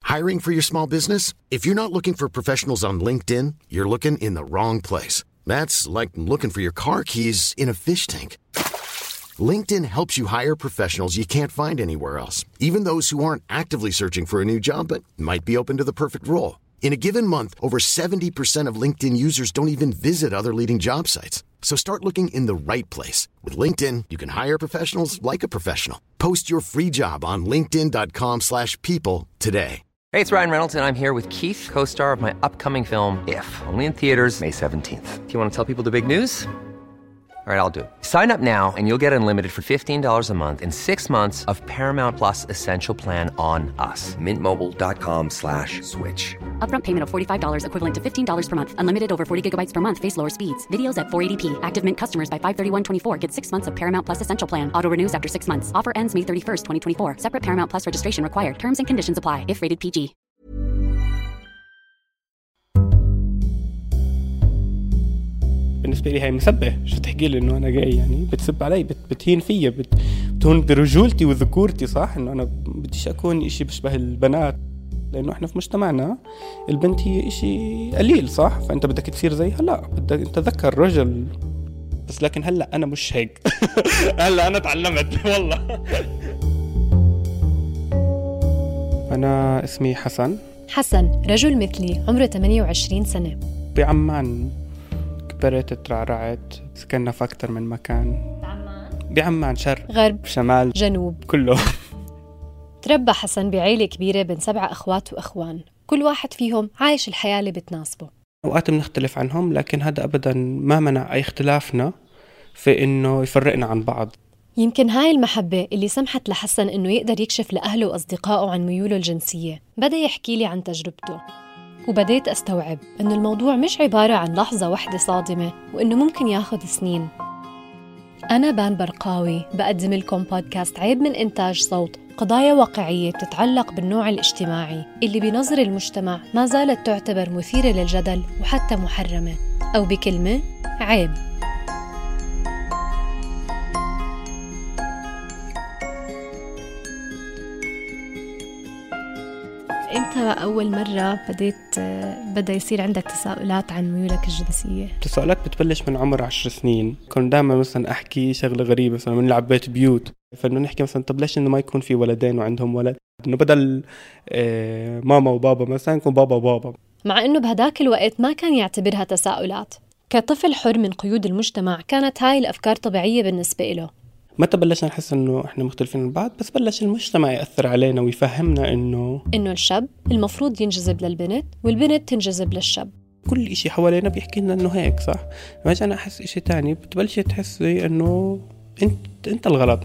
Hiring for your small business? If you're not looking for professionals on LinkedIn, you're looking in the wrong place. That's like looking for your car keys in a fish tank. LinkedIn helps you hire professionals you can't find anywhere else, even those who aren't actively searching for a new job but might be open to the perfect role. In a given month, over 70% of LinkedIn users don't even visit other leading job sites. So start looking in the right place. With LinkedIn, you can hire professionals like a professional. Post your free job on linkedin.com/people today. Hey, it's Ryan Reynolds, and I'm here with Keith, co-star of my upcoming film, If, only in theaters May 17th. Do you want to tell people the big news? All right, I'll do it. Sign up now and you'll get unlimited for $15 a month and 6 months of Paramount Plus Essential Plan on us. MintMobile.com/switch. Upfront payment of $45 equivalent to $15 per month. Unlimited over 40 gigabytes per month. Face lower speeds. Videos at 480p. Active Mint customers by 531.24 get 6 months of Paramount Plus Essential Plan. Auto renews after 6 months. Offer ends May 31st, 2024. Separate Paramount Plus registration required. Terms and conditions apply if rated PG. بالنسبة لي هاي مسبة. شو تحكي لي إنه أنا جاي يعني بتسب علي بتهين فيا بتهون برجولتي وذكورتي صح إنه أنا بديش أكون إشي بشبه البنات لأنه إحنا في مجتمعنا البنت هي إشي قليل صح فأنت بدك تصير زيها لا بدك تذكر رجل بس لكن هلأ أنا مش هيك هلأ أنا تعلمت والله. أنا اسمي حسن رجل مثلي عمره 28 سنة بعمان كبرت ترعرعت سكننا في أكتر من مكان بعمان شرق غرب شمال جنوب كله. تربى حسن بعيلة كبيرة بين 7 أخوات وأخوان كل واحد فيهم عايش الحياة اللي بتناسبه. أوقات بنختلف عنهم لكن هذا أبدا ما منع أي اختلافنا في إنه يفرقنا عن بعض. يمكن هاي المحبة اللي سمحت لحسن إنه يقدر يكشف لأهله وأصدقائه عن ميوله الجنسية. بدأ يحكي لي عن تجربته وبديت أستوعب إنه الموضوع مش عبارة عن لحظة واحدة صادمة وإنه ممكن ياخد سنين. أنا بان برقاوي بقدم لكم بودكاست عيب من إنتاج صوت قضايا واقعية بتتعلق بالنوع الاجتماعي اللي بنظر المجتمع ما زالت تعتبر مثيرة للجدل وحتى محرمة أو بكلمة عيب. إمتى أول مرة بدأ يصير عندك تساؤلات عن ميولك الجنسية؟ التساؤلات بتبلش من عمر 10 سنين. كنت دائما مثلا أحكي شغلة غريبة مثلا من نلعب بيت بيوت فإنه نحكي مثلا طب ليش إنه ما يكون في ولدين وعندهم ولد إنه بدل ماما وبابا مثلا يكون بابا وبابا. مع إنه بهداك الوقت ما كان يعتبرها تساؤلات. كطفل حر من قيود المجتمع كانت هاي الأفكار طبيعية بالنسبة له. متى بلشنا نحس إنه إحنا مختلفين عن بعض بس بلش المجتمع يأثر علينا ويفهمنا إنه الشاب المفروض ينجذب للبنت والبنت تنجذب للشاب. كل إشي حوالينا بيحكي لنا إنه هيك صح. ما أنا أحس إشي تاني بتبلش تحسي إنه أنت الغلط.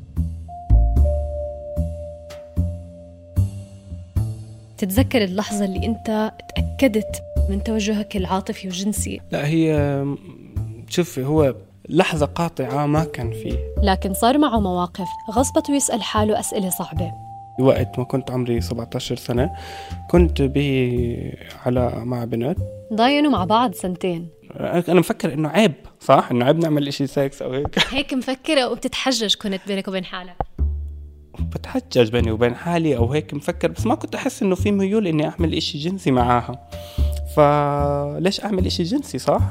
تتذكر اللحظة اللي أنت تأكدت من توجهك العاطفي والجنسي؟ لا هي شوفي هو لحظة قاطعة ما كان فيه لكن صار معه مواقف غصبته يسأل حاله أسئلة صعبة. وقت ما كنت عمري 17 سنة كنت مع بنت ضاينوا مع بعض 2 سنين. أنا مفكر إنه عيب صح إنه عيب نعمل إشي سكس أو هيك مفكرة وبتتحجج كنت بينك وبين حالك؟ بتحجج بيني وبين حالي أو هيك مفكر بس ما كنت أحس إنه في ميول إني أعمل إشي جنسي معاها فليش أعمل إشي جنسي صح؟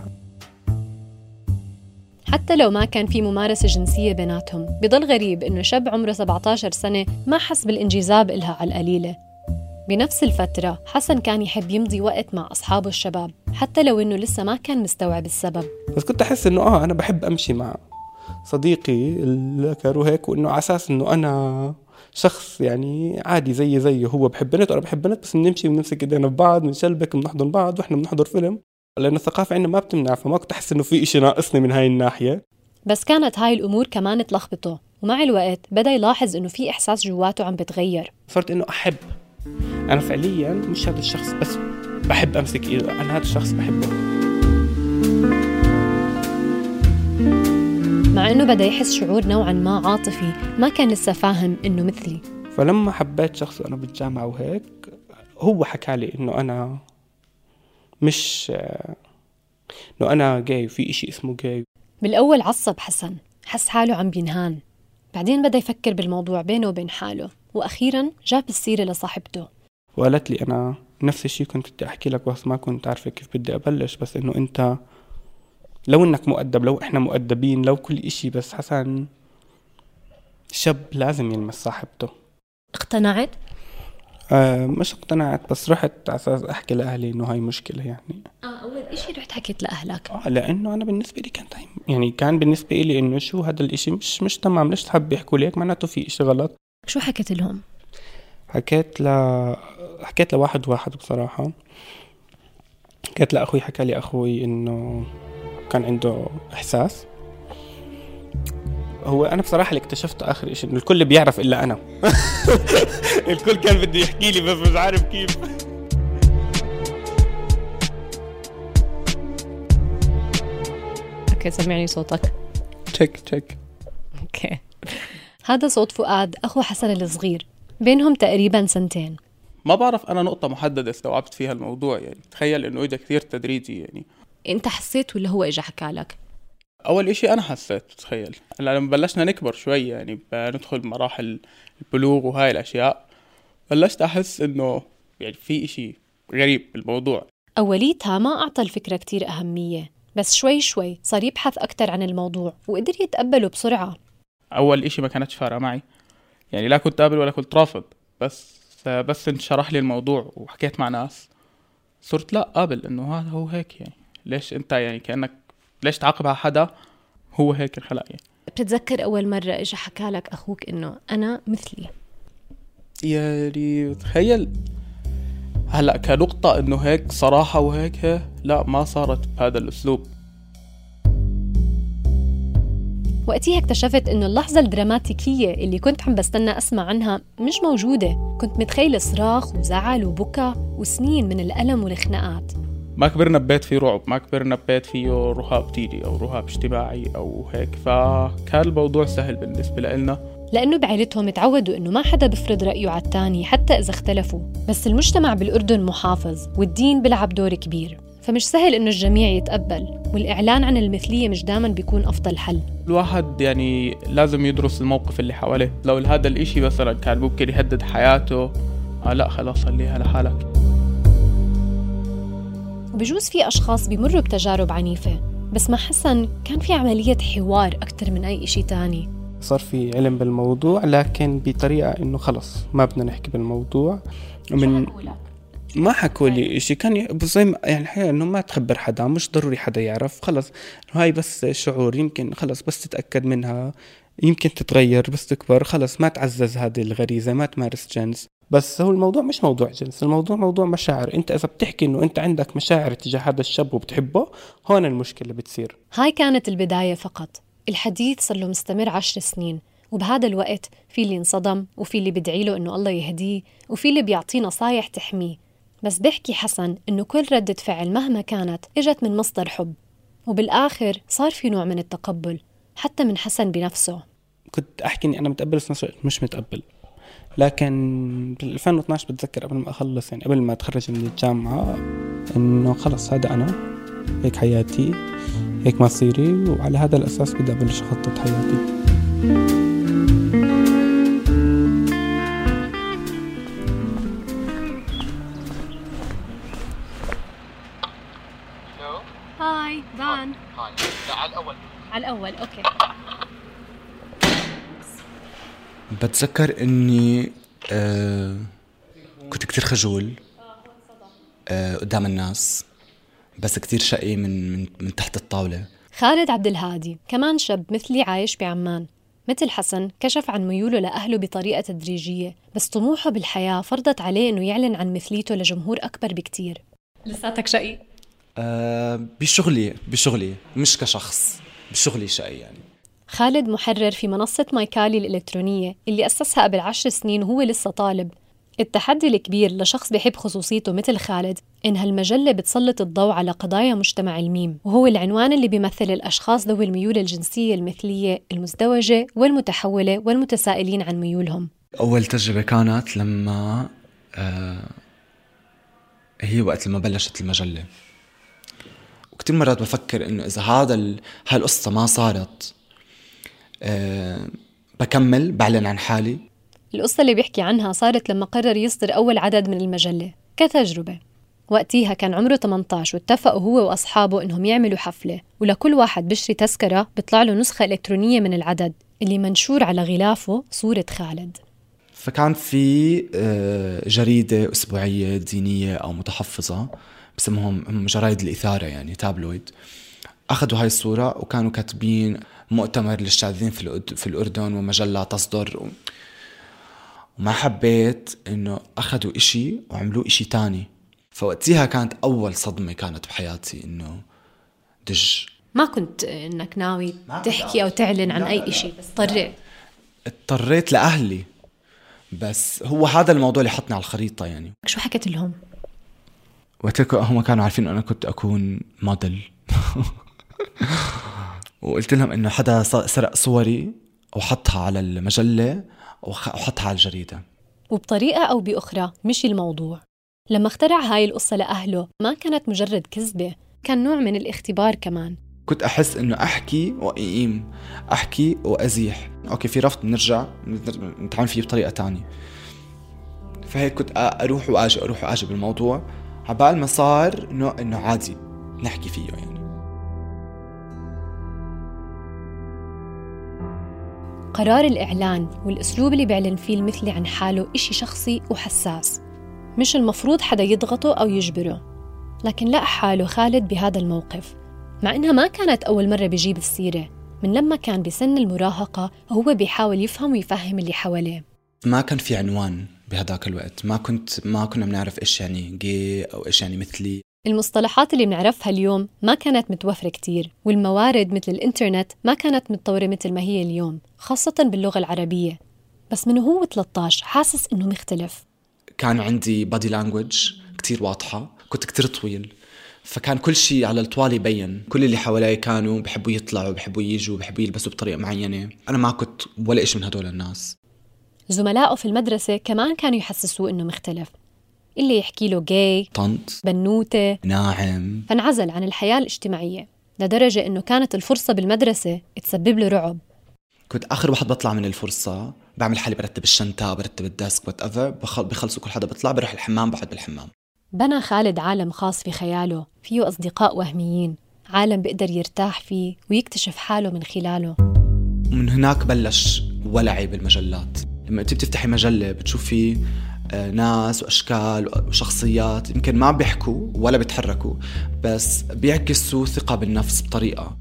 حتى لو ما كان في ممارسة جنسية بيناتهم بضل غريب إنه شاب عمره 17 سنة ما حس بالانجذاب إلها على القليلة. بنفس الفترة حسن كان يحب يمضي وقت مع أصحابه الشباب حتى لو إنه لسه ما كان مستوعب السبب. بس كنت أحس إنه أنا بحب أمشي مع صديقي الذكر وهيك وإنه على أساس إنه أنا شخص يعني عادي زيه هو بحب بنت وأنا بحب بنت بس بنمشي ونمسك إيدينا ببعض بنشلبك بنحضن بعض وإحنا بنحضر فيلم لأن الثقافة عندنا ما بتمنع فما كنت أحس إنه في إشي ناقصني من هاي الناحية. بس كانت هاي الأمور كمان تلخبطه ومع الوقت بدأ يلاحظ إنه في إحساس جواته عم بتغير. صرت إنه أحب أنا فعلياً مش هذا الشخص بس بحب أمسك إيده أنا هذا الشخص بحبه. مع إنه بدأ يحس شعور نوعاً ما عاطفي ما كان لسه فاهم إنه مثلي. فلما حبيت شخص وأنا بالجامعة وهيك هو حكى لي إنه أنا مش إنه أنا جاي في إشي اسمه جاي. بالأول عصب حسن حس حاله عم بينهان بعدين بدأ يفكر بالموضوع بينه وبين حاله وأخيراً جاب السيرة لصاحبته. وقالت لي أنا نفس الشيء كنت بدي أحكي لك بس ما كنت عارفة كيف بدي أبلش، بس إنه أنت لو إنك مؤدب، لو إحنا مؤدبين، لو كل إشي، بس حسن شاب لازم يلمس صاحبته. اقتنعت؟ مش اقتنعت، بس رحت على أساس أحكي لأهلي إنه هاي مشكلة يعني. أول إشي رحت حكيت لأهلك؟ لأنه أنا بالنسبة لي كان بالنسبة لي إنه شو هذا الإشي مش تمام، ليش تحب يحكوا ليك معناته في إشي غلط. شو حكيت لهم؟ حكيت لواحد بصراحة. حكيت لأخوي، حكى لي أخوي إنه كان عنده إحساس. هو أنا بصراحة اللي اكتشفته آخر إشي إنه الكل بيعرف إلا أنا. الكل كان بده يحكي لي بس مش عارف كيف. اوكي سمعني صوتك. تشيك. اوكي. هذا صوت فؤاد أخو حسن الصغير، بينهم تقريبا 2 سنين. ما بعرف أنا نقطة محددة استوعبت فيها الموضوع، يعني تخيل إنه إجا كثير تدريجي. يعني أنت حسيت ولا هو إجا حكالك؟ أول إشي أنا حسيت، تخيل لما بلشنا نكبر شوي، يعني بندخل مراحل البلوغ وهاي الأشياء، بلشت أحس إنه يعني في إشي غريب بالموضوع. أوليتها ما أعطى الفكرة كتير أهمية، بس شوي صار يبحث أكتر عن الموضوع وقدر يتقبله بسرعة. أول إشي ما كانتش فارقة معي، يعني لا كنت قابل ولا كنت رافض، بس انشرح لي الموضوع وحكيت مع ناس صرت لا قابل إنه هذا هو هيك. يعني ليش أنت يعني كأنك ليش تعاقب على حدا هو هيك الخلق؟ يعني بتتذكر أول مرة إجا حكالك أخوك إنه أنا مثلي؟ يعني تخيل هلأ كنقطة إنه هيك صراحة وهيك لا، ما صارت بهذا الأسلوب. وقتها اكتشفت إنه اللحظة الدراماتيكية اللي كنت عم بستنى أسمع عنها مش موجودة. كنت متخيل صراخ وزعل وبكى وسنين من الألم والخناقات. ما كبرنا ببيت فيه رعب، ما كبرنا ببيت فيه رهاب ديني أو رهاب اجتماعي أو هيك، فكان الموضوع سهل بالنسبة لنا. لأنه بعائلتهم تعودوا إنه ما حدا بفرض رأيه على التاني حتى إذا اختلفوا، بس المجتمع بالأردن محافظ والدين بيلعب دور كبير، فمش سهل إنه الجميع يتقبل، والإعلان عن المثلية مش دائما بيكون أفضل حل. الواحد يعني لازم يدرس الموقف اللي حواليه، لو هذا الإشي مثلا كان ممكن يهدد حياته لا خلاص خليها لحالك. وبجوز في أشخاص بيمروا بتجارب عنيفة، بس مع حسن كان في عملية حوار أكتر من أي إشي تاني. صار في علم بالموضوع لكن بطريقة إنه خلص ما بدنا نحكي بالموضوع. ما حكوا لي إشي، كان بس يعني الحقيقة إنه ما تخبر حدا، مش ضروري حدا يعرف، خلص هاي بس شعور، يمكن خلص بس تتأكد منها يمكن تتغير، بس تكبر خلص ما تعزز هذه الغريزة، ما تمارس جنس. بس هو الموضوع مش موضوع جنس، الموضوع موضوع مشاعر. انت اذا بتحكي انه انت عندك مشاعر تجاه هذا الشاب وبتحبه، هون المشكلة بتصير. هاي كانت البداية فقط، الحديث صار له مستمر 10 سنين، وبهذا الوقت في اللي انصدم وفي اللي بدعي له انه الله يهديه وفي اللي بيعطيه نصايح تحميه. بس بيحكي حسن انه كل ردة فعل مهما كانت اجت من مصدر حب، وبالاخر صار في نوع من التقبل حتى من حسن بنفسه. كنت احكي اني انا متقبل بس نفس الوقت مش متقبل، لكن بال 2012 بتذكر قبل ما اخلص، يعني قبل ما اتخرج من الجامعة، انه خلص هذا انا، هيك حياتي، هيك مصيري، وعلى هذا الاساس بدي ابلش اخطط حياتي. هاي فان. هاي لا على الأول أوكي. بتذكر إني كنت كتير خجول قدام الناس، بس كتير شقي من تحت الطاولة. خالد عبد الهادي كمان شاب مثلي عايش بعمان، مثل حسن كشف عن ميوله لأهله بطريقة تدريجية، بس طموحه بالحياة فرضت عليه إنه يعلن عن مثليته لجمهور أكبر بكتير. لساتك شقي؟ بشغلي مش كشخص، بشغلي شقي يعني. خالد محرر في منصة مايكالي الإلكترونية اللي أسسها قبل 10 سنين وهو لسه طالب. التحدي الكبير لشخص بيحب خصوصيته مثل خالد إن هالمجلة بتسلط الضوء على قضايا مجتمع الميم، وهو العنوان اللي بيمثل الأشخاص ذوي الميول الجنسية المثلية المزدوجة والمتحولة والمتسائلين عن ميولهم. أول تجربة كانت لما هي وقت لما بلشت المجلة، وكتير مرات بفكر إنه إذا هالقصة ما صارت بكمل بعلن عن حالي. القصة اللي بيحكي عنها صارت لما قرر يصدر أول عدد من المجلة كتجربة. وقتيها كان عمره 18 واتفقوا هو وأصحابه إنهم يعملوا حفلة، ولكل واحد بيشتري تذكرة بيطلع له نسخة إلكترونية من العدد اللي منشور على غلافه صورة خالد. فكان في جريدة أسبوعية دينية أو متحفظة بسمهم جرايد الإثارة، يعني تابلويد. أخذوا هاي الصورة وكانوا كاتبين مؤتمر للشاذين في الأردن ومجلة تصدر وما حبيت إنه أخذوا إشي وعملوا إشي تاني. فوقتها كانت أول صدمة كانت بحياتي إنه دج. ما كنت إنك ناوي تحكي أو تعلن عن أي إشي، بس اضطريت لأهلي، بس هو هذا الموضوع اللي حطني على الخريطة. يعني شو حكيت لهم؟ وقتك هم كانوا عارفين أنا كنت أكون موديل وقلت لهم إنه حدا سرق صوري وحطها على المجلة وحطها على الجريدة. وبطريقة أو بأخرى مشي الموضوع. لما اخترع هاي القصة لأهله ما كانت مجرد كذبة، كان نوع من الاختبار كمان. كنت أحس إنه أحكي وأقيم، أحكي وأزيح. أوكي في رفض نرجع نتعامل فيه بطريقة تانية. فهيك كنت أروح وآجي بالموضوع عبال ما صار إنه عادي نحكي فيه. يعني قرار الإعلان والأسلوب اللي بيعلن فيه المثلي عن حاله إشي شخصي وحساس، مش المفروض حدا يضغطه أو يجبره. لكن لقى حاله خالد بهذا الموقف، مع إنها ما كانت أول مرة بيجيب السيرة. من لما كان بسن المراهقة وهو بيحاول يفهم ويفهم اللي حواليه. ما كان في عنوان بهداك الوقت، ما كنا بنعرف إيش يعني جي أو إيش يعني مثلي. المصطلحات اللي بنعرفها اليوم ما كانت متوفرة كتير، والموارد مثل الإنترنت ما كانت متطورة مثل ما هي اليوم، خاصة باللغة العربية. بس من هو 13 حاسس إنه مختلف. كان عندي بادي لانجويج كتير واضحة، كنت كتير طويل، فكان كل شيء على الطوال يبين. كل اللي حوالي كانوا بحبوا يطلعوا، بحبوا يجوا، بحبوا يلبسوا بطريقة معينة. أنا ما كنت ولا إيش من هدول الناس. زملائه في المدرسة كمان كانوا يحسسوه إنه مختلف، اللي يحكي له جاي، طنط، بنوتة، ناعم. فانعزل عن الحياة الاجتماعية لدرجة إنه كانت الفرصة بالمدرسة تسبب له رعب. كنت آخر واحد بطلع من الفرصة، بعمل حالي برتب الشنطة، برتب الديسك، بخلصوا كل حدا بطلع، بروح الحمام، بقعد بالحمام. بنى خالد عالم خاص في خياله، فيه أصدقاء وهميين، عالم بيقدر يرتاح فيه ويكتشف حاله من خلاله. ومن هناك بلش ولعي بالمجلات. لما انت بتفتحي مجلة بتشوفي ناس وأشكال وشخصيات يمكن ما بيحكوا ولا بيتحركوا، بس بيعكسوا ثقة بالنفس بطريقة.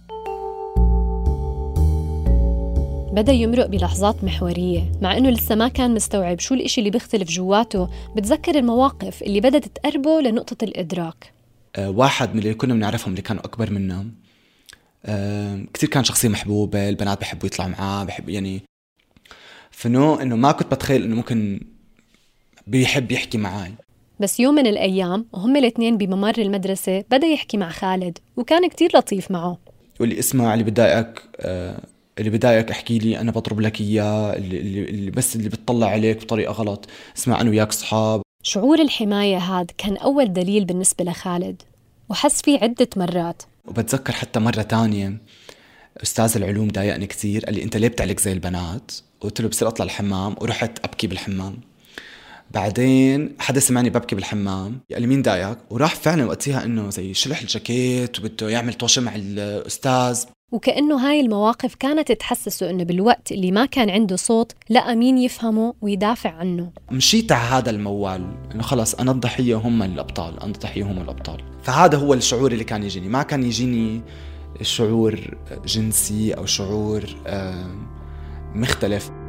بدأ يمرق بلحظات محورية، مع إنه لسه ما كان مستوعب شو الإشي اللي بيختلف جواته. بتذكر المواقف اللي بدأت تقربه لنقطة الإدراك. واحد من اللي كنا بنعرفهم اللي كانوا أكبر منا كتير كان شخصية محبوبة، البنات بيحبوا يطلعوا معاه، بحب يعني إنه ما كنت بتخيل إنه ممكن بيحب يحكي معاي. بس يوم من الأيام وهم الاثنين بممر المدرسة بدأ يحكي مع خالد، وكان كتير لطيف معه. واللي اسمع اللي بدايك احكي لي، أنا بضرب لك إياه، اللي بتطلع عليك بطريقة غلط، اسمع أنا وياك صحاب. شعور الحماية هاد كان أول دليل بالنسبة لخالد، وحس فيه عدة مرات. وبتذكر حتى مرة تانية أستاذ العلوم ضايقني كتير، قال لي أنت ليه بتعلق زي البنات؟ قلت له بصير أطلع الحمام، ورحت أبكي بالحمام. بعدين حدا سمعني ببكي بالحمام، قال لي مين ضايقك؟ وراح فعلا وقتها إنه زي شلح الجاكيت وبده يعمل طوشة مع الأستاذ. وكأنه هاي المواقف كانت تحسسه إنه بالوقت اللي ما كان عنده صوت لقى مين يفهمه ويدافع عنه. مشيت على هذا الموال إنه خلاص أنا الضحية هم الأبطال، أنا الضحية هم الأبطال. فهذا هو الشعور اللي كان يجيني، ما كان يجيني شعور جنسي أو شعور مختلف.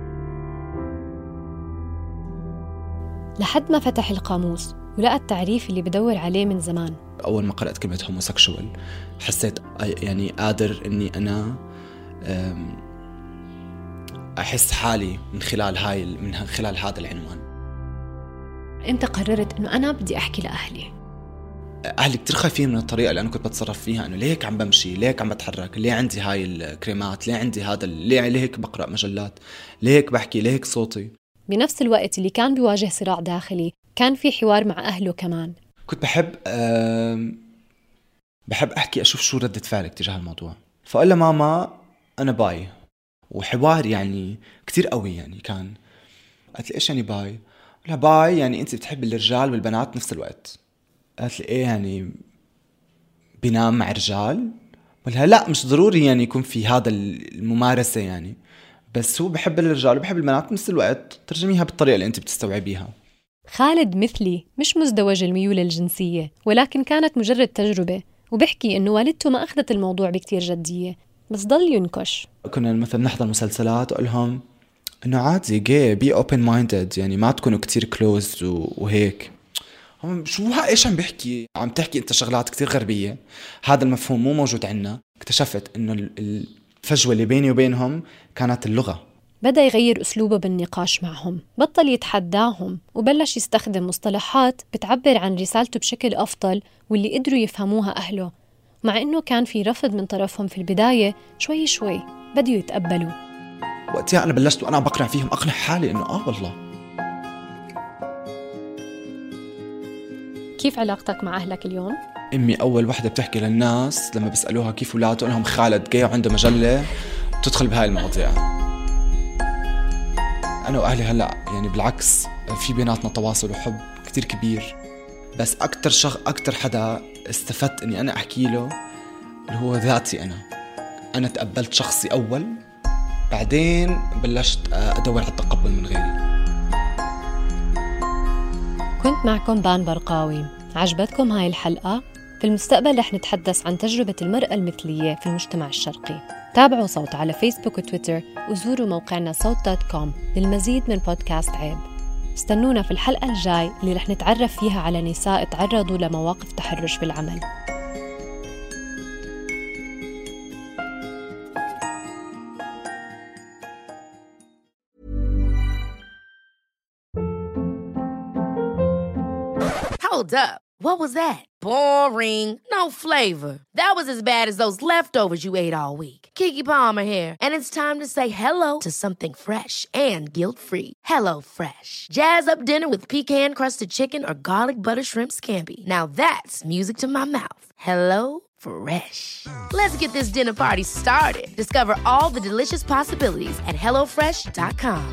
لحد ما فتح القاموس ولقى التعريف اللي بدور عليه من زمان. أول ما قرأت كلمة هوموسيكشوال حسيت يعني قادر إني أنا أحس حالي من خلال هذا العنوان. إمتى قررت إنه أنا بدي أحكي لأهلي؟ أهلي كتير خايفين من الطريقة اللي أنا كنت بتصرف فيها، إنه ليه هيك عم بمشي، ليه هيك عم بتحرك، ليه عندي هاي الكريمات، ليه عندي هذا، ليه هيك بقرأ مجلات، ليه هيك بحكي، ليه هيك صوتي. بنفس الوقت اللي كان بيواجه صراع داخلي كان في حوار مع أهله كمان. كنت بحب أحكي أشوف شو ردة فعلك تجاه الموضوع. فقال له ماما أنا باي، وحوار يعني كتير قوي يعني كان. قالت لي إيش يعني باي؟ قلت لها باي يعني أنت بتحب الرجال والبنات نفس الوقت. قالت لي إيه يعني بينام مع رجال؟ قلت لها لا مش ضروري يعني يكون في هذا الممارسة يعني، بس هو بحب الرجال وبحب البنات بنفس الوقت، ترجميها بالطريقة اللي أنت بتستوعبيها. خالد مثلي مش مزدوج الميول الجنسية، ولكن كانت مجرد تجربة، وبحكي إنه والدته ما أخذت الموضوع بكتير جدية، بس ضل ينكش. كنا مثلا نحضر مسلسلات أقول لهم إنه عادي جاي بي open minded، يعني ما تكونوا كتير closed وهيك. هم شو إيش عم بحكي؟ عم تحكي أنت شغلات كتير غربية، هذا المفهوم مو موجود عنا. اكتشفت إنه الفجوة اللي بيني وبينهم كانت اللغة. بدأ يغير أسلوبه بالنقاش معهم، بطل يتحداهم وبلش يستخدم مصطلحات بتعبر عن رسالته بشكل أفضل واللي قدروا يفهموها أهله. مع إنه كان في رفض من طرفهم في البداية، شوي شوي بدوا يتقبلوا. وقتها أنا بلشت وأنا بقنع فيهم، أقنع حالي إنه والله. كيف علاقتك مع أهلك اليوم؟ أمي أول وحدة بتحكي للناس لما بسألوها كيف ولاده، لهم خالد جاي وعنده مجلة بتدخل بهاي المواضيع. أنا وأهلي هلأ يعني بالعكس في بيناتنا تواصل وحب كتير كبير، بس أكتر حدا استفدت إني أنا أحكي له اللي هو ذاتي. أنا تقبلت شخصي أول، بعدين بلشت أدور على التقبل من غيري. كنت معكم بان برقاوي. عجبتكم هاي الحلقة؟ في المستقبل رح نتحدث عن تجربة المرأة المثلية في المجتمع الشرقي. تابعوا صوت على فيسبوك وتويتر، وزوروا موقعنا صوت.com للمزيد من بودكاست عيب. استنونا في الحلقة الجاي اللي رح نتعرف فيها على نساء تعرضوا لمواقف تحرش بالعمل. Hold up. What was that? Boring. No flavor. That was as bad as those leftovers you ate all week. Keke Palmer here, and it's time to say hello to something fresh and guilt-free. Hello Fresh. Jazz up dinner with pecan-crusted chicken or garlic butter shrimp scampi. Now that's music to my mouth. Hello Fresh. Let's get this dinner party started. Discover all the delicious possibilities at HelloFresh.com.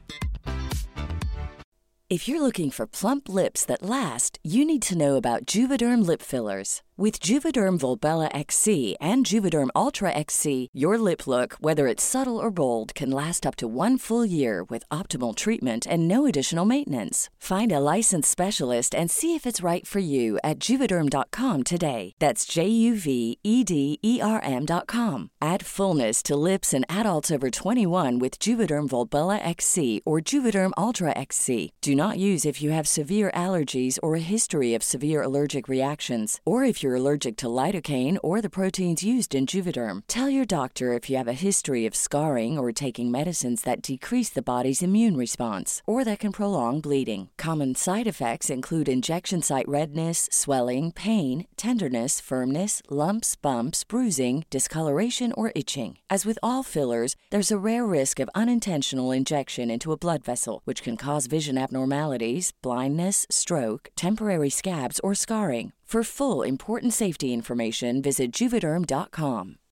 If you're looking for plump lips that last, you need to know about Juvederm lip fillers. With Juvederm Volbella XC and Juvederm Ultra XC, your lip look, whether it's subtle or bold, can last up to 1 full year with optimal treatment and no additional maintenance. Find a licensed specialist and see if it's right for you at Juvederm.com today. That's JUVEDERM.com. Add fullness to lips in adults over 21 with Juvederm Volbella XC or Juvederm Ultra XC. Do not use if you have severe allergies or a history of severe allergic reactions, or if you're allergic to lidocaine or the proteins used in Juvederm. Tell your doctor if you have a history of scarring or taking medicines that decrease the body's immune response or that can prolong bleeding. Common side effects include injection site redness, swelling, pain, tenderness, firmness, lumps, bumps, bruising, discoloration, or itching. As with all fillers, there's a rare risk of unintentional injection into a blood vessel, which can cause vision abnormalities, blindness, stroke, temporary scabs, or scarring. For full important safety information, visit Juvederm.com.